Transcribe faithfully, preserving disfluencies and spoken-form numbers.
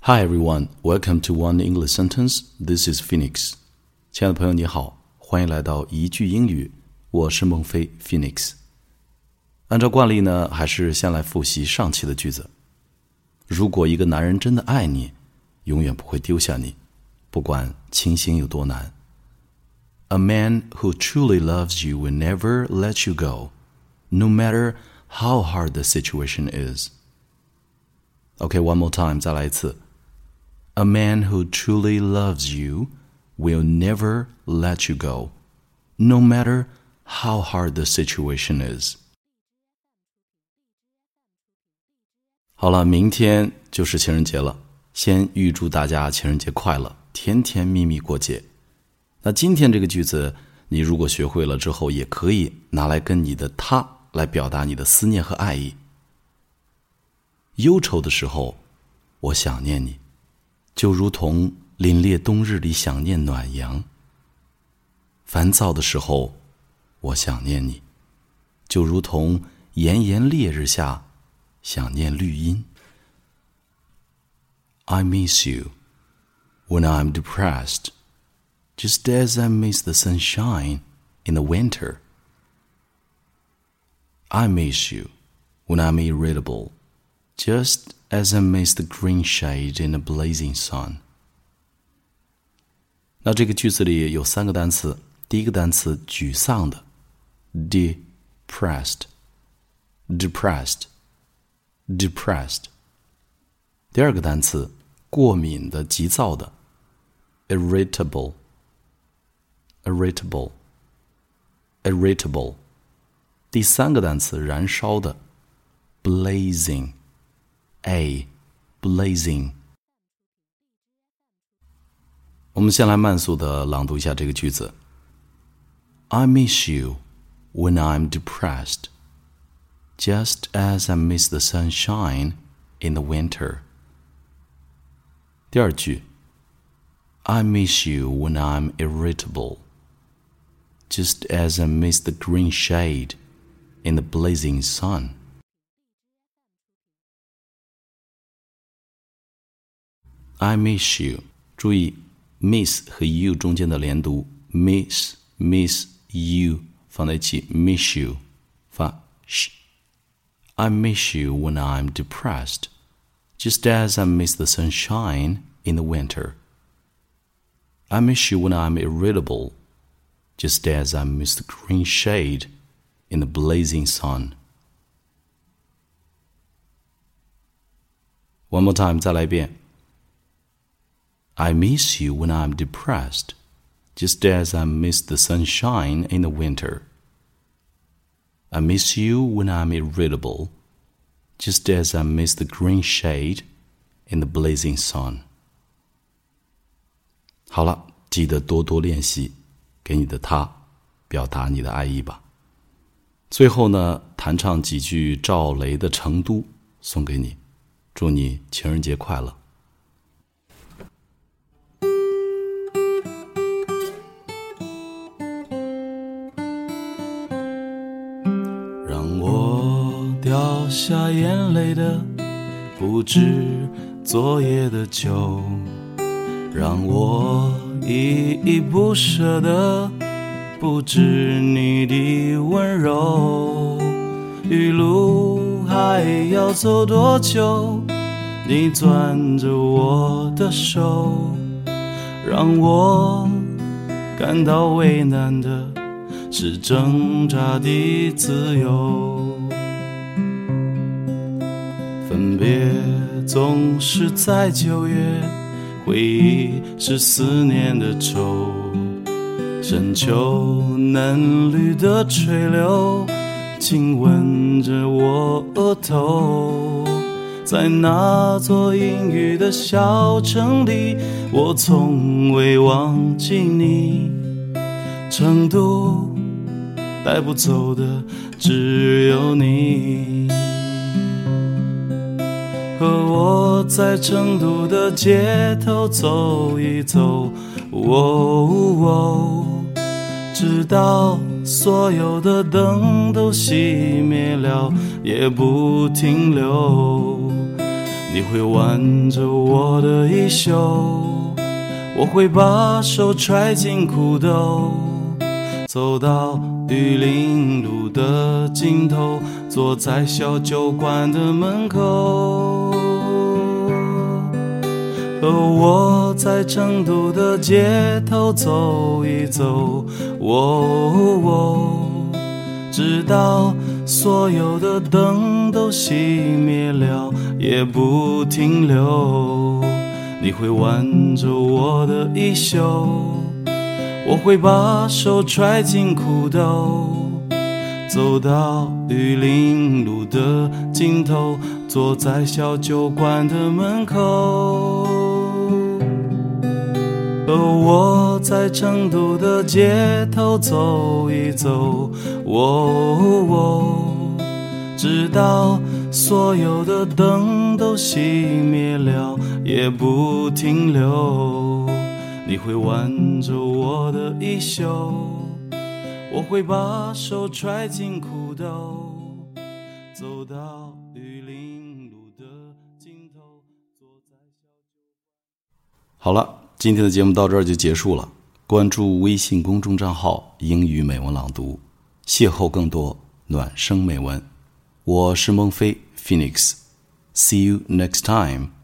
Hi everyone, welcome to One English Sentence. This is Phoenix. 亲爱的朋友你好，欢迎来到一句英语，我是孟非 Phoenix。按照惯例呢，还是先来复习上期的句子。如果一个男人真的爱你，永远不会丢下你，不管情形有多难。A man who truly loves you will never let you go, no matter how hard the situation is. Okay, one more time, 再来一次。A man who truly loves you will never let you go, no matter how hard the situation is. 好了，明天就是情人节了，先预祝大家情人节快乐，甜甜蜜蜜过节。那今天这个句子，你如果学会了之后，也可以拿来跟你的他来表达你的思念和爱意。忧愁的时候，我想念你，就如同凛冽冬日里想念暖阳。烦躁的时候，我想念你，就如同炎炎烈日下想念绿荫。I miss you when I'm depressed, just as I miss the sunshine in the winter. I miss you when I'm irritable, just as I miss the green shade in the blazing sun. 那这个句子里有三个单词，第一个单词沮丧的 depressed depressed depressed 第二个单词过敏的急躁的 irritable irritable irritable 第三个单词燃烧的 blazing A blazing。 我们先来慢速的朗读一下这个句子。 I miss you when I'm depressed, just as I miss the sunshine in the winter. 第二句 I miss you when I'm irritable, just as I miss the green shade in the blazing sun. I miss you. 注意 miss 和 you 中间的连读 miss, miss, you 放在一起 miss you 发 sh. I miss you when I'm depressed, just as I miss the sunshine in the winter. I miss you when I'm irritable, just as I miss the green shade in the blazing sun. One more time, 再来一遍。I miss you when I'm depressed, just as I miss the sunshine in the winter. I miss you when I'm irritable, just as I miss the green shade in the blazing sun. 好了，记得多多练习，给你的他表达你的爱意吧。最后呢，弹唱几句赵雷的《成都》送给你，祝你情人节快乐。让我掉下眼泪的不止昨夜的酒，让我依依不舍的不止你的温柔。余路还要走多久，你攥着我的手，让我感到为难的是挣扎的自由。分别总是在九月，回忆是思念的愁，深秋嫩绿的垂柳亲吻着我额头。在那座阴雨的小城里，我从未忘记你。成都带不走的只有你，和我在成都的街头走一走，哦哦，直到所有的灯都熄灭了，也不停留。 你会挽着我的衣袖，我会把手揣进裤兜，走到玉林路的尽头，坐在小酒馆的门口。和我在成都的街头走一走，哦哦，直到所有的灯都熄灭了也不停留。你会挽着我的衣袖，我会把手揣进裤兜，走到玉林路的尽头，坐在小酒馆的门口。和我在成都的街头走一走，哦哦，直到所有的灯都熄灭了也不停留。你会挽着我的衣袖，我会把手揣进裤兜，走到玉林路的尽头，坐在小酒。好了，今天的节目到这儿就结束了。关注微信公众账号英语美文朗读，邂逅更多暖声美文。我是孟非 Phoenix， See you next time.